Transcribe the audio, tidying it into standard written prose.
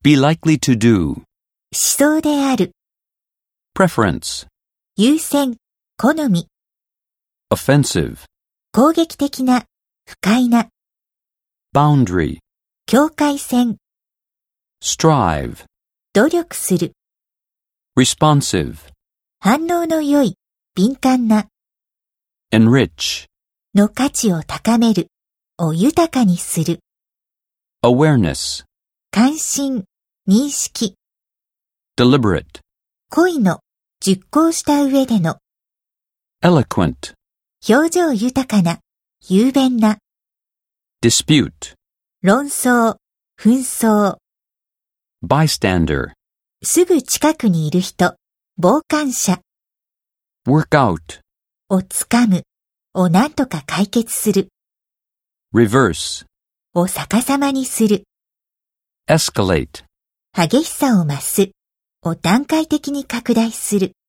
Be likely to do. しそうである。 Preference. 優先、好み。 Offensive. 攻撃的な、不快な。 Boundary. 境界線。 Strive. 努力する。 Responsive. 反応の良い、敏感な。 Enrich. の価値を高める。を豊かにする。 Awareness. 関心、認識。 Deliberate. 恋の、熟考した上での。 Eloquent. 表情豊かな、雄弁な。 Dispute. 論争、紛争。 Bystander. すぐ近くにいる人、傍観者。 Work out. をつかむ。を何とか解決する。 Reverse. を逆さまにする。 Escalate. 激しさを増す。を段階的に拡大する。